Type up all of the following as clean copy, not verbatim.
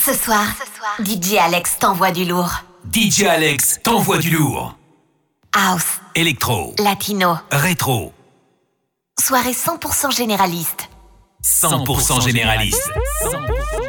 Ce soir, DJ Alex t'envoie du lourd. DJ Alex t'envoie du lourd. House, électro, latino, rétro. Soirée 100% généraliste. 100% généraliste. 100%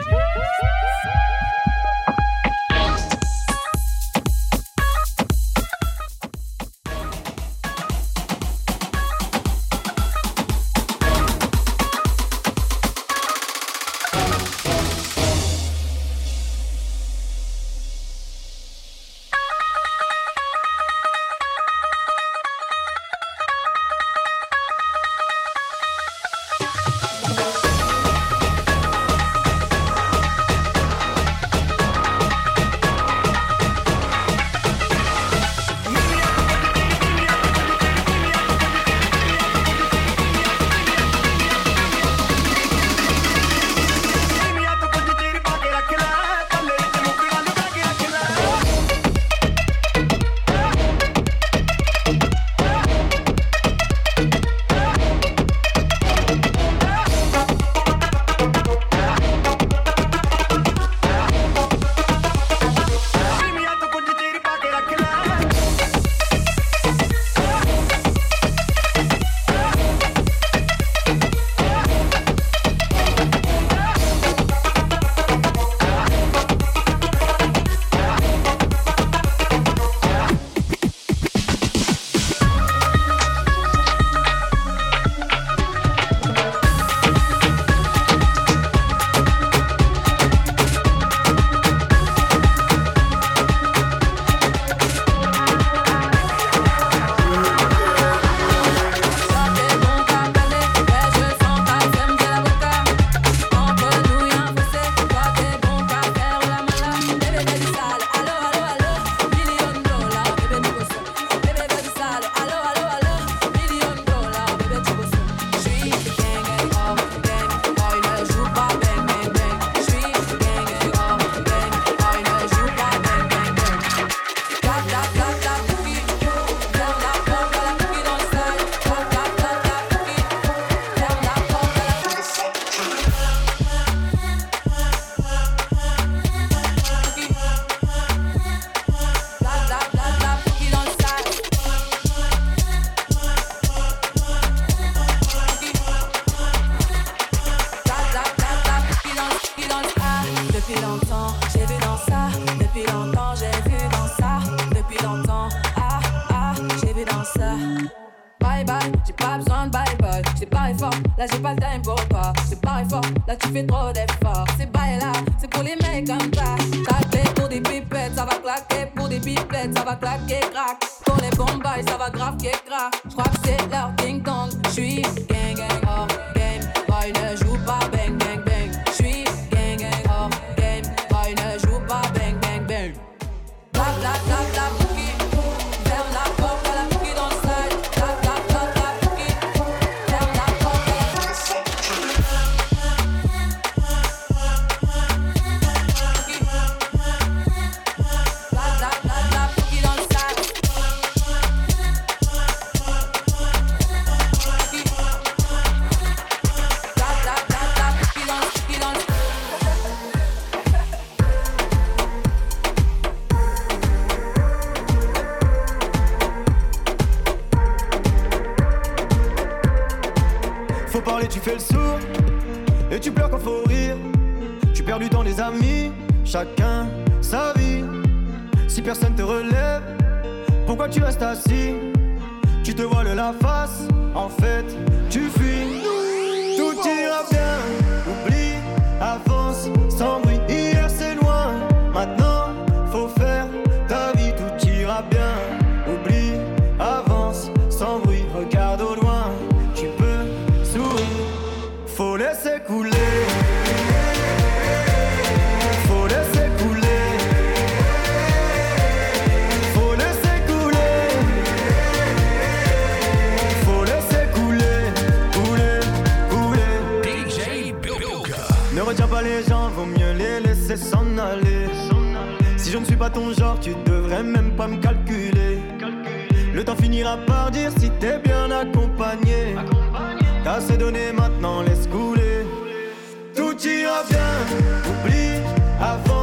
Chacun sa vie. Si personne te relève, pourquoi tu restes assis? Tu te voiles la face, en fait, tu fuis. Tout ira bien, oublie, avance, sans bruit. Hier c'est loin, maintenant faut faire ta vie. Tout ira bien, oublie, avance, sans bruit. Regarde au loin, tu peux sourire. Faut laisser couler. Retiens pas les gens, vaut mieux les laisser s'en aller. Si je ne suis pas ton genre, tu devrais même pas me calculer. Le temps finira par dire si t'es bien accompagné. T'as assez donné, maintenant laisse couler. Tout ira bien, oublie, avant.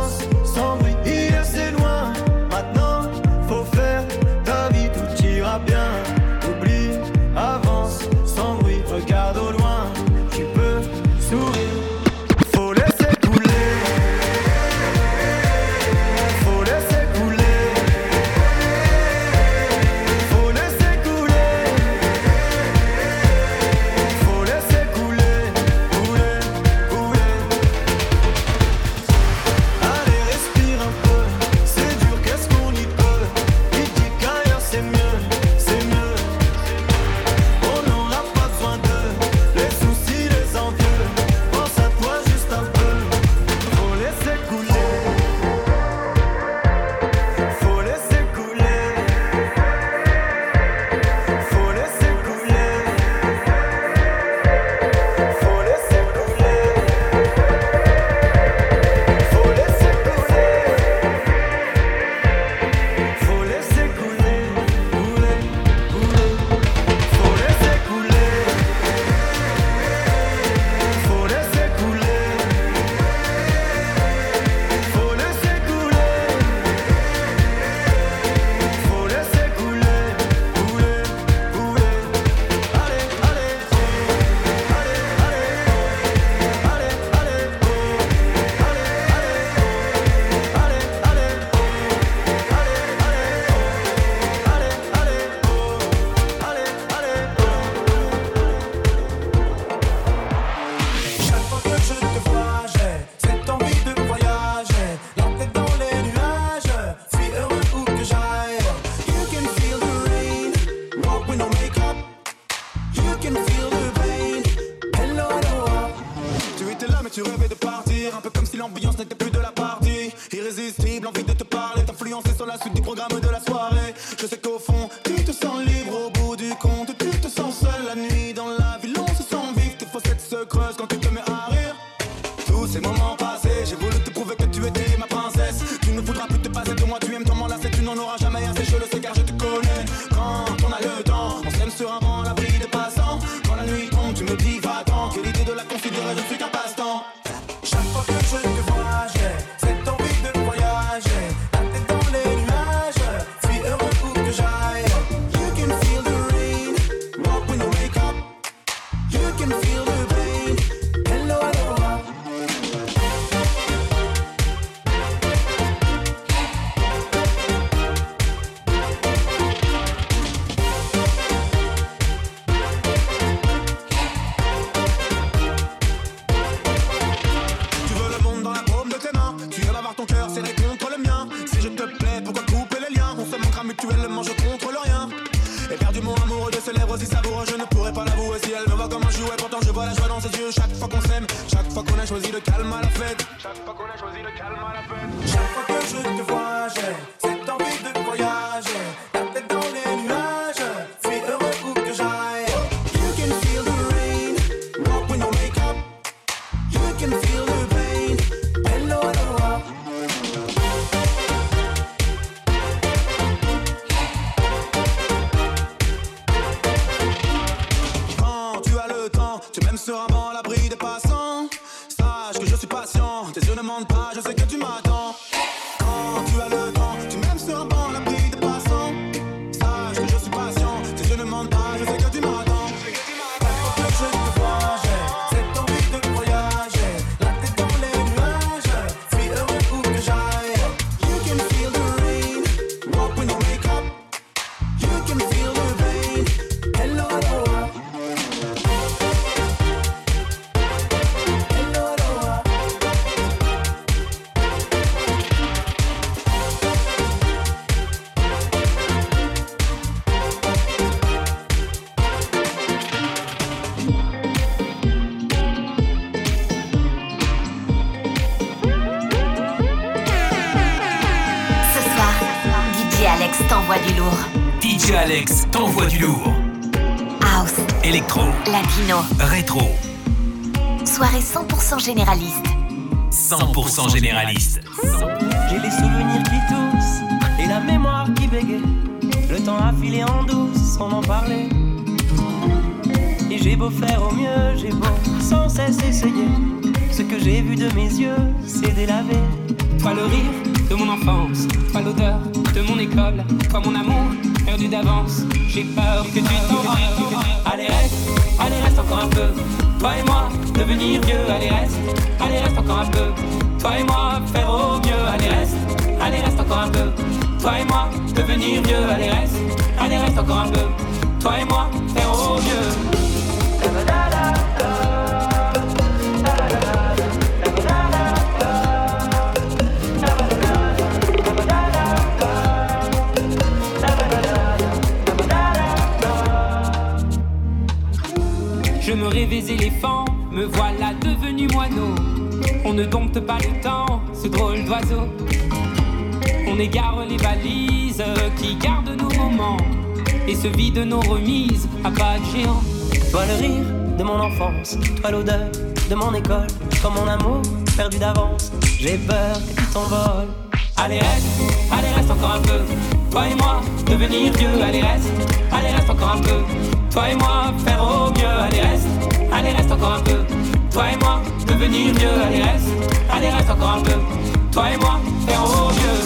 irrésistible, envie de te parler, t'influencer sur la suite du programme de la soirée. Je sais qu'au fond, tu te sens libre, au bout du compte, tu te sens seul. La nuit dans la ville, on se sent vif, tes fossettes se creusent quand tu te mets à rire. Tous ces moments passés, j'ai voulu te prouver que tu étais ma princesse. Tu ne voudras plus te passer de moi, tu aimes ton m'enlacer, tu n'en auras jamais assez, je le sais car je te connais. Quand on a le temps, on s'aime sur un banc, l'abri des passants. Quand la nuit tombe, tu me dis va-t'en, que l'idée de la considérer, je ne suis qu'un passe-temps. Chaque fois que je te vois, j'ai cette envie de voyager, la tête dans les nuages, suis heureux où que j'aille. You can feel the rain, walk when you wake up. You can feel the pain, hello, aloha. Ton cœur serré contre le mien. Si je te plais, pourquoi couper les liens? On se manquera mutuellement, je contrôle rien. Éperdument amoureux de ses lèvres aussi savoureux, je ne pourrais pas l'avouer si elle me voit comme un jouet. Pourtant je vois la joie dans ses yeux chaque fois qu'on s'aime, chaque fois qu'on a choisi le calme à la fête. Chaque fois qu'on a choisi le calme à la fête. Chaque fois que je te vois, j'ai cette envie de voyager, la tête dans les nuages, suis heureux où que j'aille. You can feel the rain, walk when you wake up. You can feel the pain, hello, aloha. Tu m'aimes sur un banc à l'abri des passants. Sache que je suis patient, tes yeux ne mentent pas, je sais que tu m'attends. Quand tu as le temps, tu m'aimes sur un banc à l'abri des passants. Sache que je suis patient, tes yeux ne mentent pas, je sais que tu m'attends. Chaque fois que je te vois, j'ai cette envie de voyager, la tête dans les nuages, suis heureux où que j'aille. You can feel the rain, walk when you wake up. You can feel the pain, hello, aloha. T'envoie du lourd. DJ Alex t'envoie du lourd. House, électro, latino, rétro. Soirée 100% généraliste. 100% généraliste. J'ai les souvenirs qui toussent et la mémoire qui bégaye. Le temps a filé en douce sans en parler. Et j'ai beau faire au mieux, j'ai beau sans cesse essayer. Ce que j'ai vu de mes yeux, c'est délavé. Toi le rire de mon enfance, toi l'odeur de mon école, toi mon amour perdu d'avance. J'ai peur que tu t'en ailles. Allez reste encore un peu. Toi et moi, devenir vieux. Allez reste encore un peu. Toi et moi, faire au mieux. Allez reste encore un peu. Toi et moi, devenir vieux. Allez reste encore un peu. Toi et moi, faire au mieux. Je me rêvais éléphant, me voilà devenu moineau. On ne dompte pas le temps, ce drôle d'oiseau. On égare les balises qui gardent nos moments et se vident nos remises à pas de géant. Toi le rire de mon enfance, toi l'odeur de mon école, toi mon amour perdu d'avance. J'ai peur que tu t'envoles. Allez reste encore un peu. Toi et moi, devenir vieux. Allez reste encore un peu. Toi et moi, faire au mieux. Allez reste encore un peu. Toi et moi, devenir vieux. Allez reste encore un peu. Toi et moi, faire au mieux.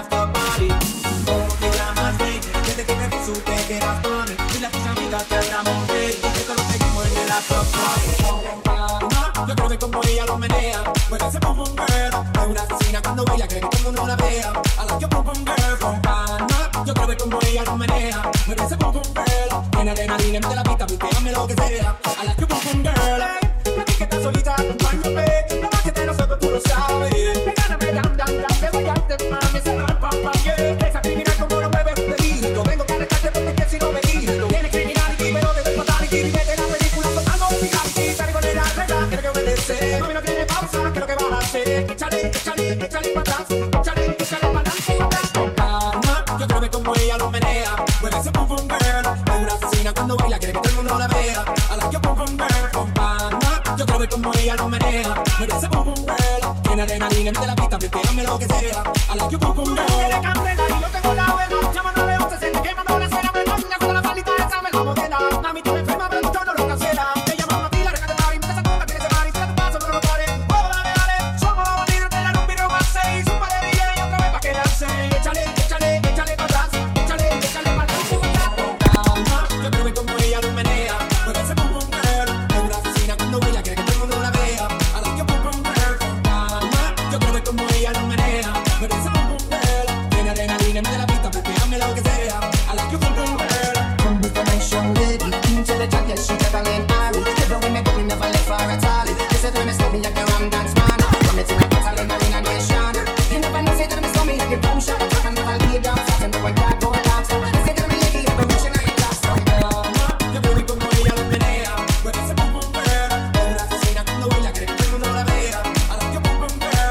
after party. Oh, te llamas baby, desde que te vi supe que eras para mí. Y las tus amigas te hablamos de ella, esto lo seguimos en el after party. Yo quiero ver como ella lo menea, mueve ese pum pum girl. Es una asesina cuando baila, cree que todo el mundo la vea. I like your pum pum girl, con pana. Yo quiero ver como ella lo menea, mueve ese pum pum girl. Tiene adrenalina, mete la pista, pístame lo que sea. I like your pum pum girl. La que está solita, acompáñame. No más que de nosotros tú lo sabes. Pégame, dam, dam, dam, te voy a hacer mami. Se va, pam, pam, yeah. Esa criminal como lo mueve un delito. Vengo para arrestarte porque que si no me quito. Tiene criminality, pero desde el fatality. Mete la película con algo musicality. Salgo de la regla, quiero que obedece. Mami, no tiene pausa, ¿qué es lo que vas a hacer? Échale, échale, échale para atrás. Échale, échale para adelante. Con calma, yo quiero ver como ella lo menea. Mueve ese pum pum girl. Es una asesina cuando baila, quiere que todo el mundo la vea. I like your pum pum girl. Con calma, yo quiero ver como ella lo menea. Mueve ese pum pum girl. Tiene adrenalina, mete la pista, pístame lo que sea. I like your pum pum girl. Tiene candela y yo tengo la buena. Llámame a 11, se te quemando la cena. Me doña con la palita esa, me la modela. Mami, tú me enferma, pero yo no lo cancela. Te llamo a ti, la reca de Mari. Mete esa coca, tiene ese Mari. Si te paso, no lo pares. Oh, dale, dale. Somos los bandidos, te dan un virus más 6. Un par de DJ y otra vez pa' quedarse. Échale, échale, échale para atrás. Échale, échale para atrás. Calma, yo quiero ver como ella lo menea. Mueve ese pum pum girl. Es una asesina cuando baila, quiere que todo el mundo la vea. I like your pum pum girl. Calma, yo quiero ver como ella lo menea. Mueve ese pum pum girl. Tiene adrenalina, mete la pista, pístame lo que sea. I like your pum pum girl. Come with the nice young lady, into the jacket, she got a lane Harry. Never when me go, we never left for a tally. They said when me stop me like a ram dance man. When me till I get a lane, in a nation. You never know, say that me stop me like a boom shot. I can never lay down flat and the one that go relax. They say that me lady, have a mission at your last. Yo quiero ver como ella lo menea. Mueve ese pum pum girl. Es una asesina cuando baila, quiere que todo el mundo la vea. I like your pum pum girl.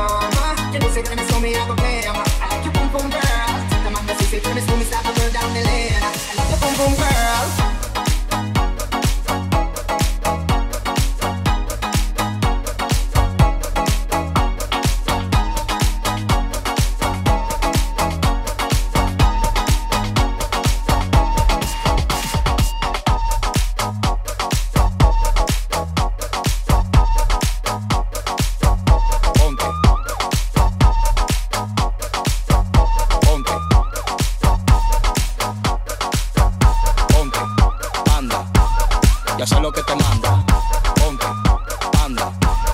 You know, say that me stop me, I go play. I like you, boom boom girl. The man that say to me, stop me, start to burn down the lane. I like you, boom boom girl. Ya sé lo que te manda, ponte, anda.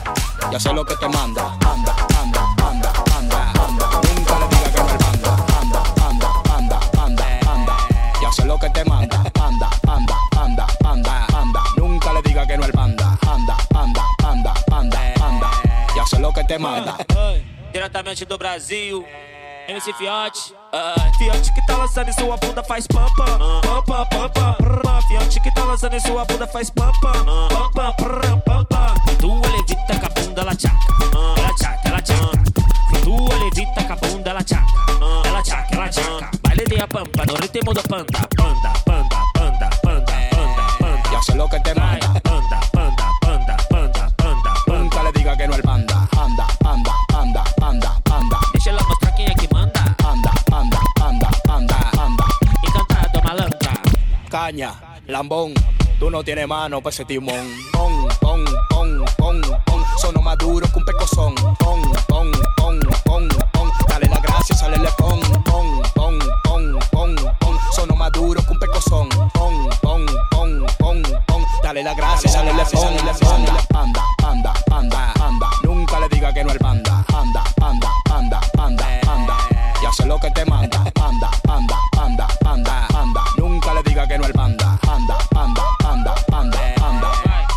Ya sé lo que te manda, anda, anda, anda, anda, anda. Nunca le diga que no al banda, anda, anda, anda, anda, anda. Ya sé lo que te manda, anda, anda, anda, anda, anda. Nunca le diga que no al banda, anda, anda, anda, anda, anda. Ya sé lo que te manda. Diretamente do Brasil, MC Fiote. Fiote que tá lançando em sua bunda faz pam pam, pam pam pam pam. Fiote que tá lançando em sua bunda faz pam pam, pam pam pam pam pam. Tua levita com a bunda ela tchaca, ela tchaca, ela tchaca. Tua levita com a bunda ela tchaca, ela tchaca, ela tchaca. Baile de a pampa no ritmo do panda, panda, panda, panda, panda, panda, panda. Ya sé lo que te manda, panda, panda, panda, panda, panda. Nunca le diga que no al banda, anda, anda, anda, anda, anda. Deixa ela mostrar quem é que manda. Anda, anda, anda, anda, anda. Encantado, malandra. Caña, lambón, tú no tienes mano pa' ese timón. Pon, pon, pon, pon, pon. Sono más duro que un pecozón. Pon, pon, pon, pon, pon. Dale la gracia, sale le pon. Pon, pon, pon, pon, pon. Sono más duro que un pecozón. Pon, pon, pon, pon, pon. Dale la gracia, sale le pon. Anda, anda, anda, anda. Nunca le diga que no al banda. Anda, anda, anda, anda, anda. Ya sé lo que te manda. Anda, anda, anda, anda, anda. Nunca le diga que no al banda. Anda, anda, anda, anda, anda.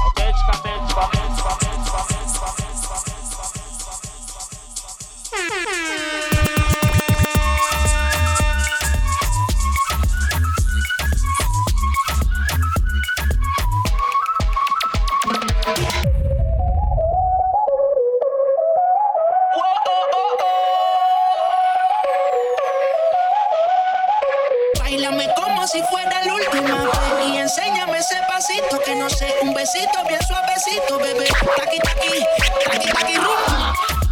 Báilame como si fuera la última vez y enséñame ese pasito que no sé, un besito bien suavecito, bebé. Taqui, taqui, taqui, taqui, rum.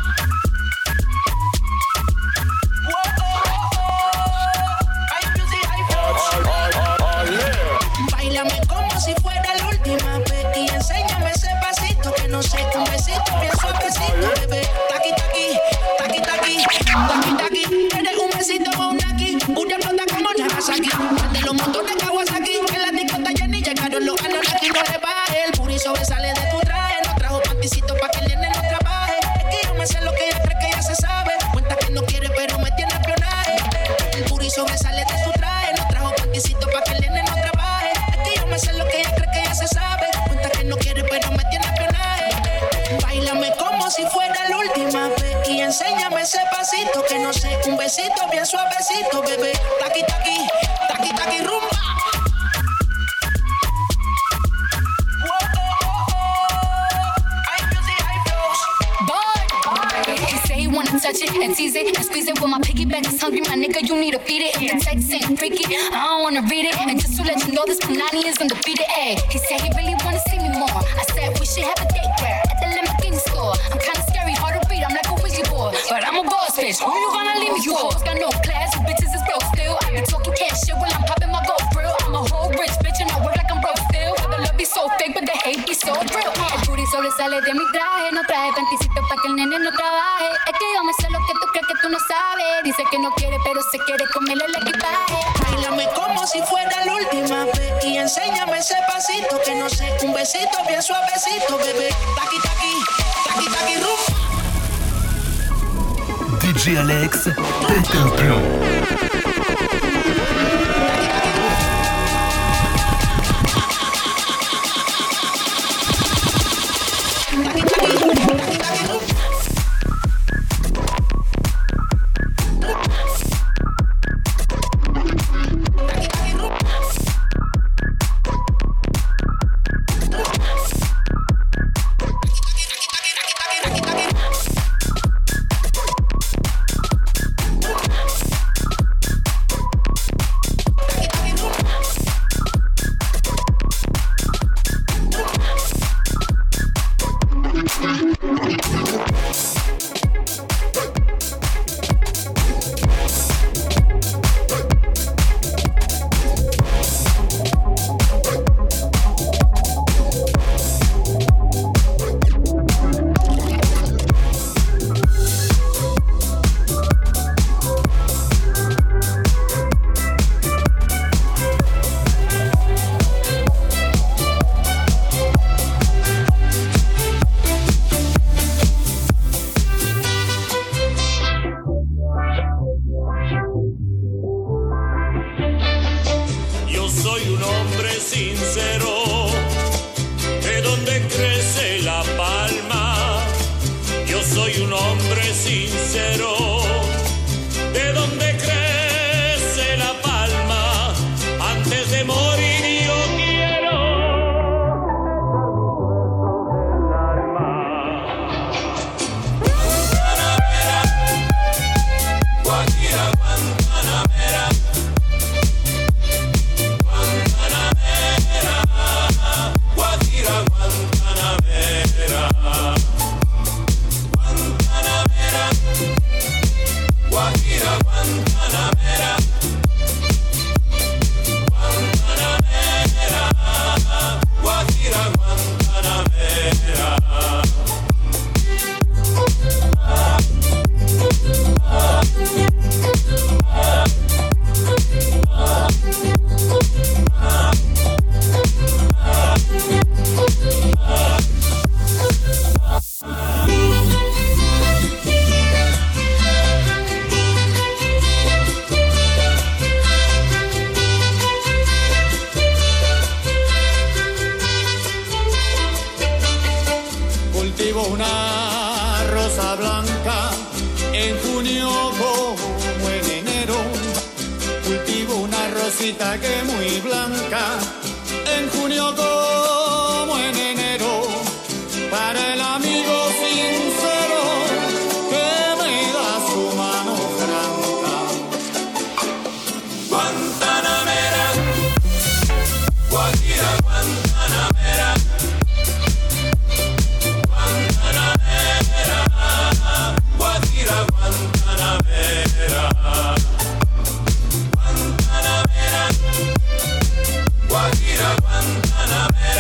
Báilame como si fuera la última vez y enséñame ese pasito que no sé, un besito bien suavecito, bebé. Taqui, taqui, taqui, taqui, taqui, taqui. Eres y enséñame ese pasito que no sé, un besito bien suavecito, bebé. Taqui, taqui, taqui, taqui, rumba. Wanna touch it and tease it and squeeze it. When my piggyback is hungry, my nigga, you need to feed it. The text ain't freaky, I don't wanna read it. And just to let you know, this Punani is undefeated. Ay, he said he really wanna see me more. I said we should have a date where at the Lamborghini store. I'm kinda scary, hard to read, I'm like a Ouija board, but I'm a boss bitch. Who you gonna leave me for? You hoes got no class, you bitches is broke still. I be talking cash shit while I'm popping my gold grill. I'm a whole rich bitch and I work like I'm broke still. The love be so fake, but the hate be so real. El booty sobresale de mi traje, no traje panticito pa' que el nene no trabaje. Es que yo me sé lo que tú crees que tú no sabes. Dice que no quiere, pero se quiere comerle el equipaje. Báilame como si fuera la última vez y enséñame ese pasito que no sé, un besito bien suavecito, bebé. Taqui, taqui, taqui, taqui, rumba. DJ Alex, pète un plomb. Que muy blanca en junio como en enero, para el amigo sincero que me da su mano franca. Guantanamera, Guajira, Guantanamera, Guantanamera, Guajira, Guantanamera. Guajira, Guantanamera.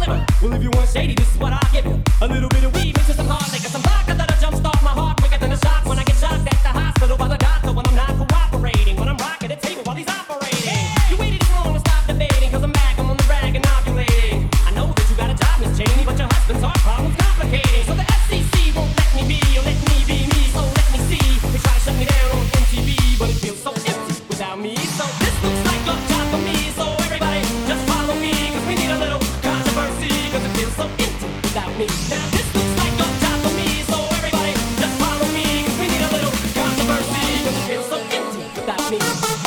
whatever. Well, if you want shady, this is what I'll give you. A little bit of weed mixed with some hard liquor, some vodka that'll jumpstart my heart quicker than a shot when I get shocked at the hospital by the doctor when I'm not cooperating, when I'm rocking the table while he's operating. You waited too long to stop debating, cause I'm back, I'm on the rag and ovulating. I know that you got a job, Miss Cheney, but your husband's heart problem's complicating. So the FCC won't let me be, or let me be me, so let me see. They try to shut me down on MTV, but it feels so empty without me. So this looks like a job for me, so everybody just follow me, cause we need a little controversy, cause it feels so empty without me. Now this looks like a job for me, so everybody just follow me, cause we need a little controversy, cause it feels so empty without me.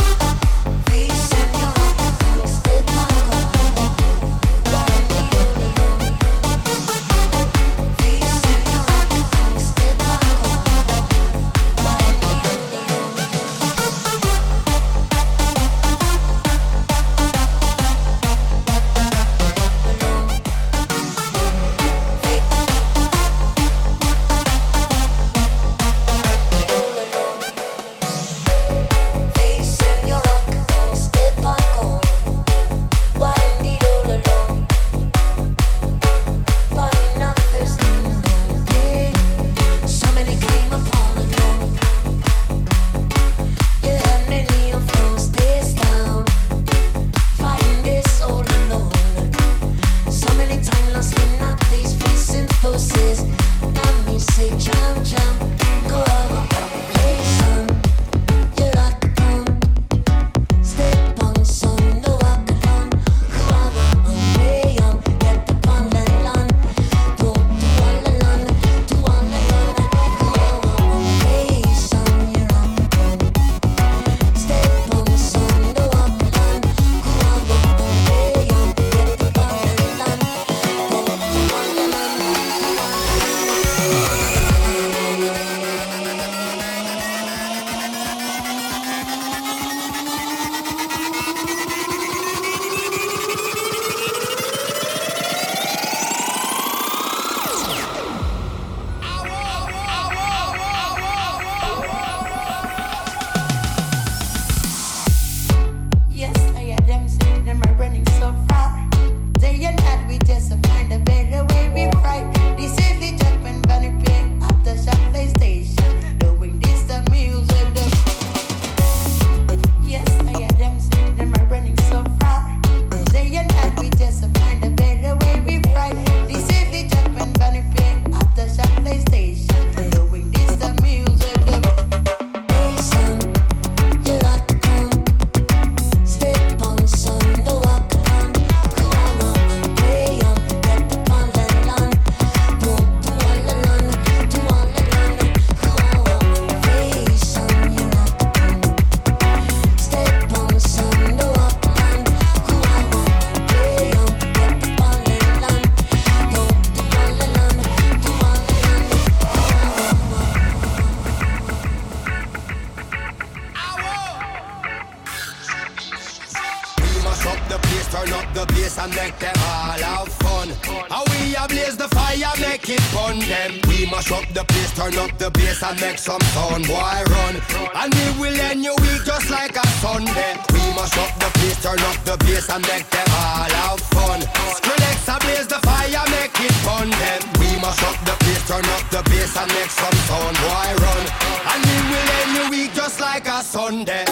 Make some sound, boy, run. And we will end your week just like a Sunday. We must up the place, turn up the bass and make them all have fun. Skrillex ablaze the fire, make it fun then. We must up the place, turn up the bass and make some sound, boy, run. And we will end your week just like a Sunday.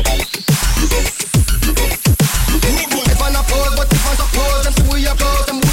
If I not pose, but if I suppose, them see we are close, them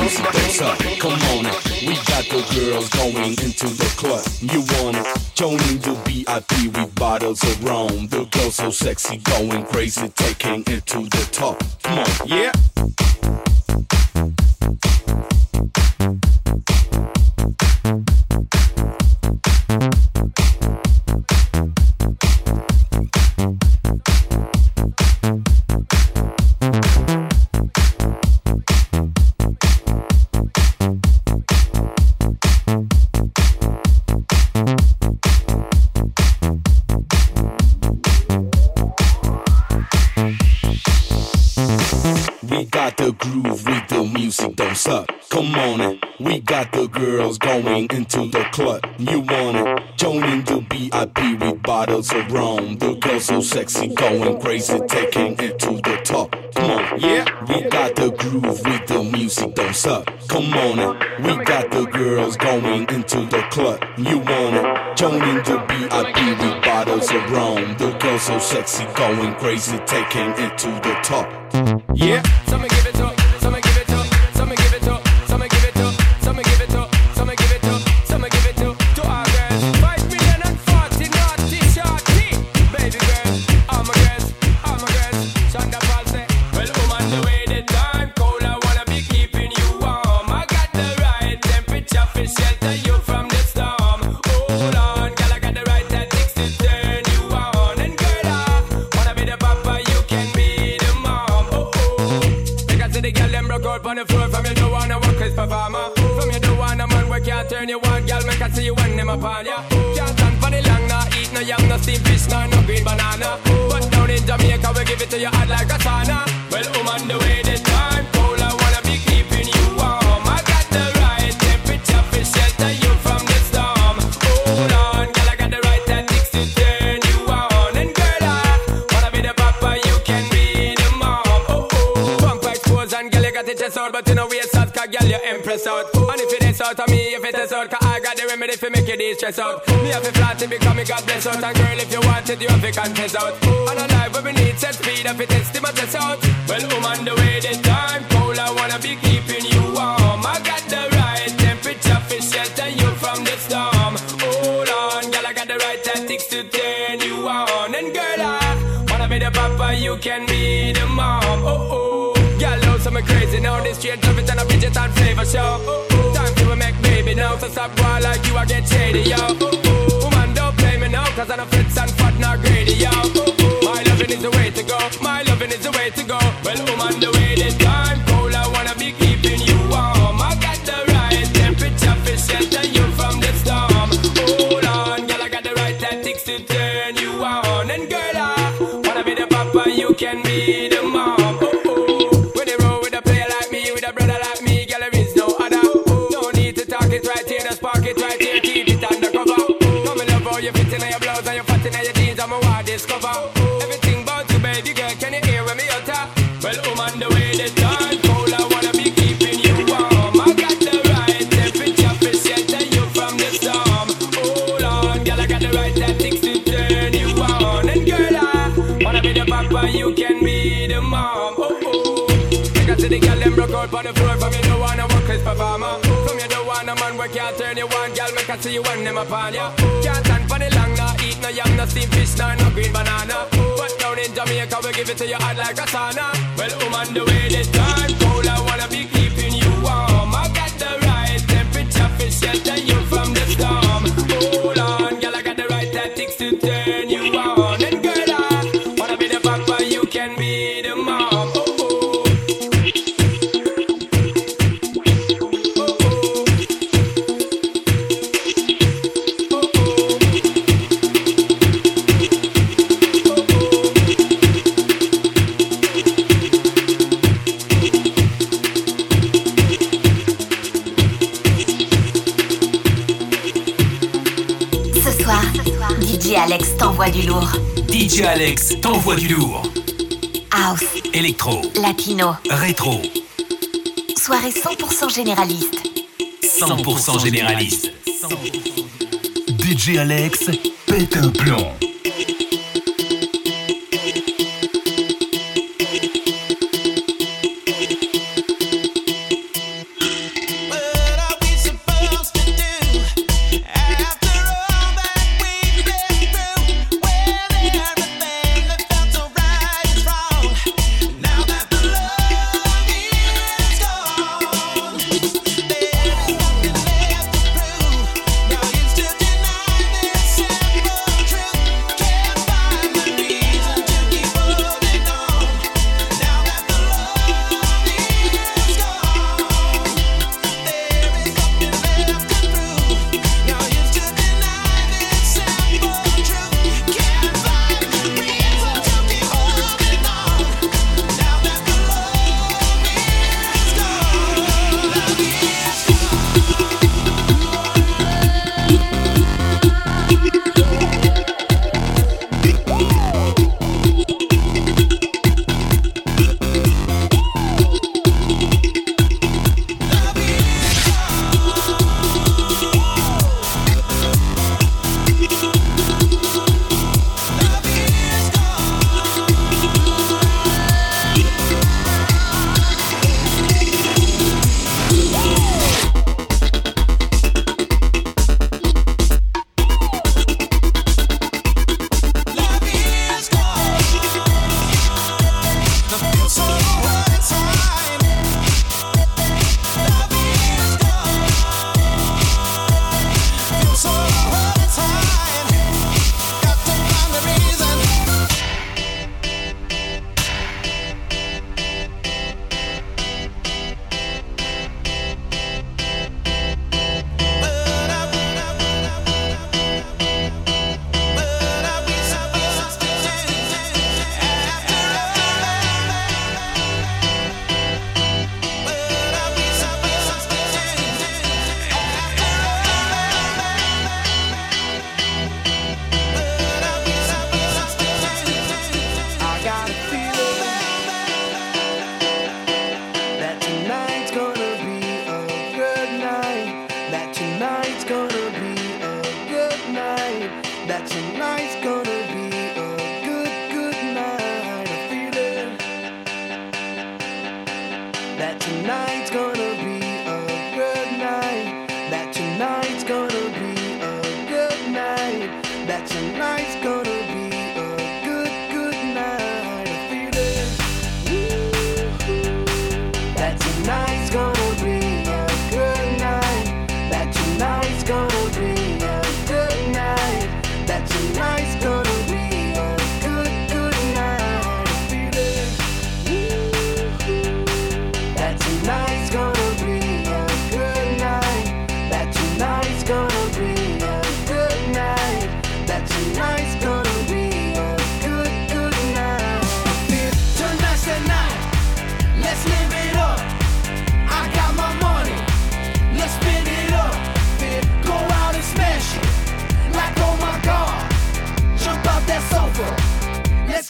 music goes up. Come on it. We got the girls going into the club. You want it? Joining the VIP with bottles of rum. The girls so sexy, going crazy, taking it to the top. Come on, yeah. Groove with the music, don't suck. Come on it. We got the girls going into the club. You want it? Joining the VIP with bottles of rum. The girls so sexy, going crazy, taking it to the top. Come on, yeah. We got the groove with the music, don't suck. Come on it. We got the girls going into the club. You want it? Joining the VIP with bottles of rum. The girls so sexy, going crazy, taking it to the top. Yeah. Some give it up, some give it up, some give it up, some give it up, some give it up, some give it up, some give it up to our girls. 5 million and 40 naughty shorty, baby girls, all my girls, Shonda Paul say, well, on the way the time cold, I wanna be keeping you warm. I got the right temperature for shelter you from the storm. Hold on, girl, I got the right tactics to turn you on. And girl, I wanna be the papa, you can be the mom. The girl them broke out on the floor. From you don't wanna work as performer. From you don't wanna man where can't turn you on. Girl make I see you when them upon ya. Can't stand for the long, nah eat no yam, no steamed fish, no green banana. But down in Jamaica we give it to you hot like a sauna. Well, on the way the time cold, I wanna be keeping you warm. I got the right temperature for shelter you from the storm. Hold on, girl, I got the right tactics to turn you on. And girl, I wanna be the papa, you can be the mom. And girl, you got the chest out, but you know waist out, cause girl, you impress out. And if it is out of me, if it is out, cause I got the remedy for make you de-stress out. Me have to flat it because me got bless out. And girl, if you want it, you have to confess out. And a life where we need set speed, if it is, to my test out. Well, on the way the time cold, I wanna be keeping you warm. I got the right temperature for shelter you from the storm. Hold on, girl, I got the right tactics to turn you on. And girl, I wanna be the papa, you can be the mom. Girl, so me crazy now. This straight love it and a Bridget and flavor show. Time to make baby now. So stop going like you, I get shady, yo. Woman, don't play me now, cause I'm a fritz and fat, not greedy, yo. My loving is the way to go. My loving is the way to go. Well, woman, the way this time cold, I wanna be keeping you warm. I got the right temperature for shelter you from the storm. Hold on, girl, I got the right tactics to turn you on. And girl, I wanna be the papa, you can be the mom. Spark it right here, keep it undercover. Come and love how you fit in your blouse and you fat in your jeans, I'm a wild discover. Everything about you, baby girl, can you hear when me utter? Well, on the way the time cold, I wanna be keeping you warm. I got the right temperature for shelter you from the storm. Hold on, girl, I got the right tactics to turn you on. And girl, I wanna be the papa, you can be the mom. Like I said, the girl them broke out on the floor. From you don't wanna work as performer. A man where can't turn you on, girl, make I see you when them upon ya. Can't stand for the long, nah eat no yam, no steamed fish, no green banana. But down in Jamaica we give it to you hot like a sauna. Well, on the way this time cold, I wanna be keeping you warm. I got the right temperature for shelter you from the storm. Hold on, girl, I got the right tactics to turn you on. And girl, I wanna be the papa, you can be the mom. DJ Alex t'envoie du lourd. DJ Alex t'envoie du lourd. House, électro, latino, rétro. Soirée 100% généraliste. 100% généraliste. DJ Alex pète un plomb.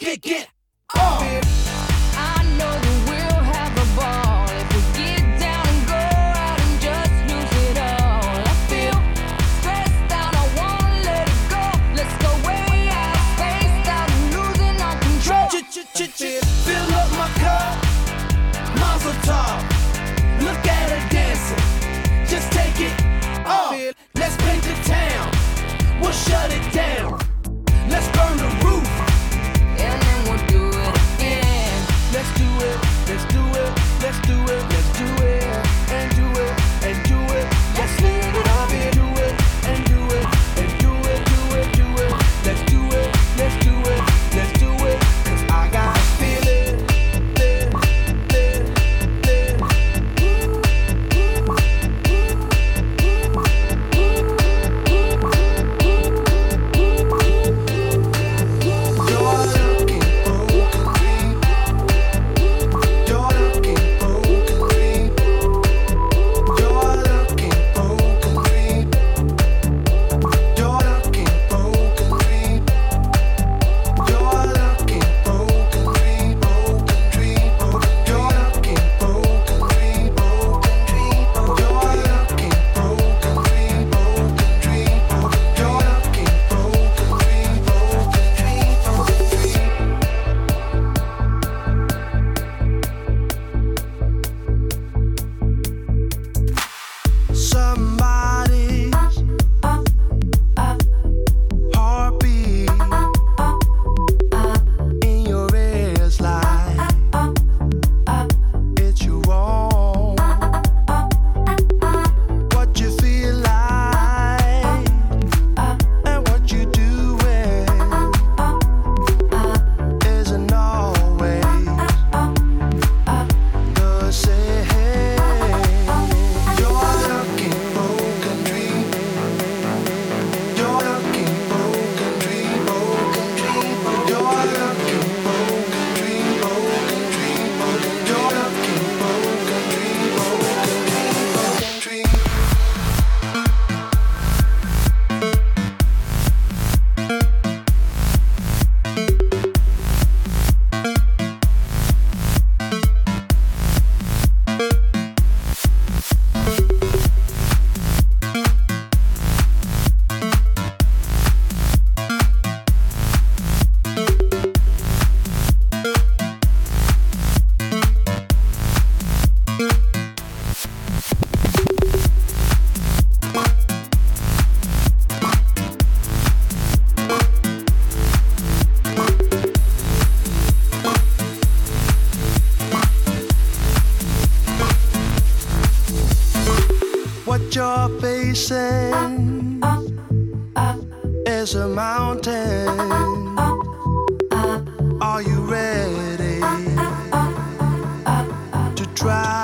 get on. I know that we'll have a ball if we get down and go out and just lose it all. I feel stressed out, I wanna let it go. Let's go way out, spaced out, and losing our control. Fill up my cup, Mazel tov. Look at her dancing, just take it off. Let's paint the town, we'll shut it down. Let's burn the roof, and then we'll do it again. Let's do it, let's do it, let's do it, let's do it, and do it, and do it. Let's live it up and do it, and do it, and do it, do it, do it. Let's do it, let's do it, let's do it. 'Cause I got a feeling. What you're facing is a mountain. Are you ready to try?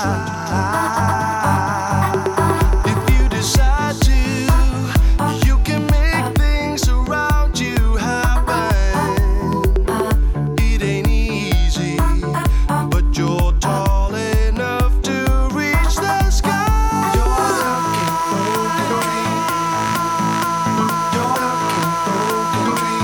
If you decide to, you can make things around you happen. It ain't easy, but you're tall enough to reach the sky. You're looking for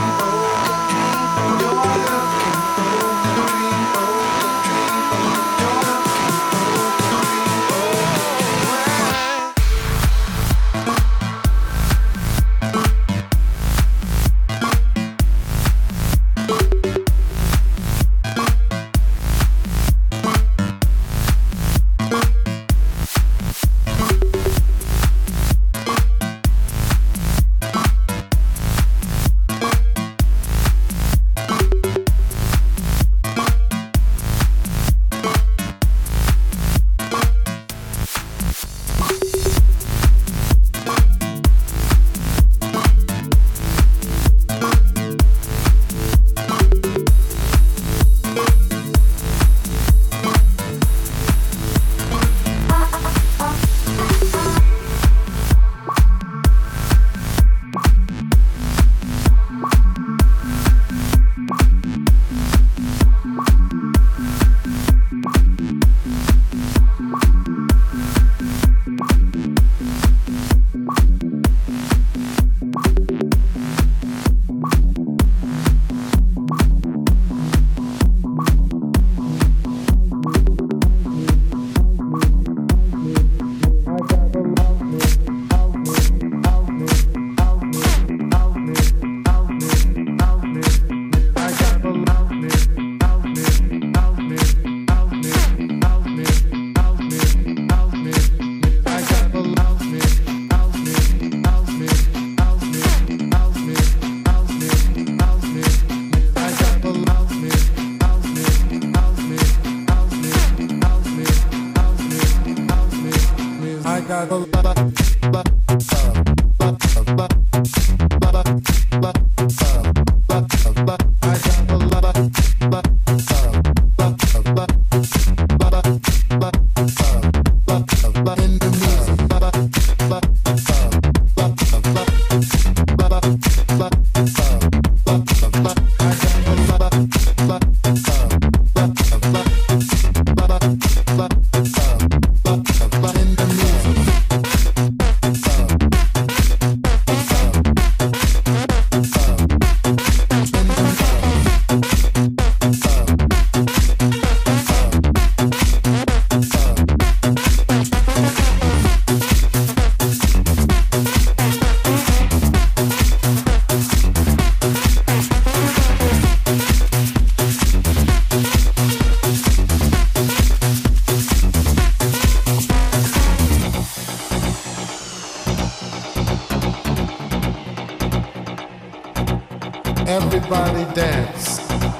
Everybody dance.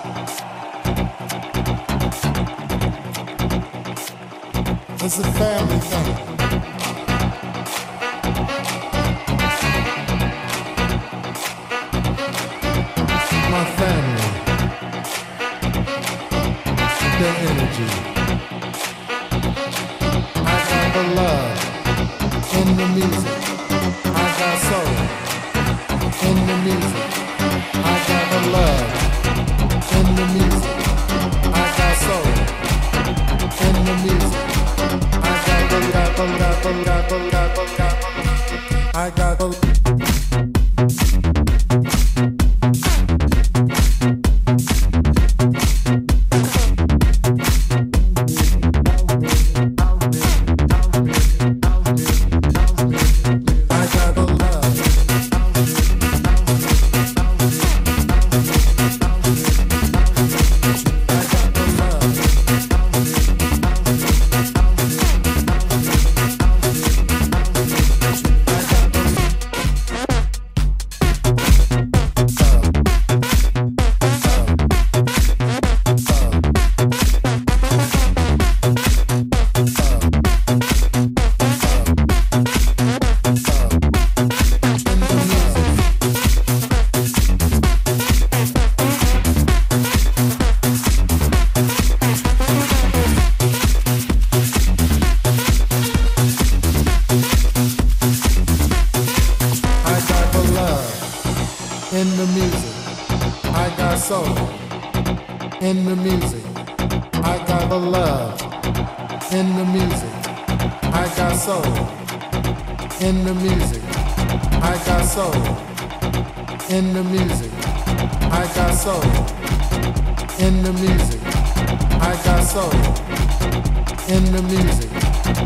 It's a family thing. My family, their energy. I got the love in the music. I got soul in the music. I got the love in the music. I got soul in the music. I got the I got the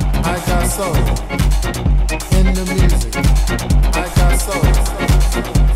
in the music. I got soul.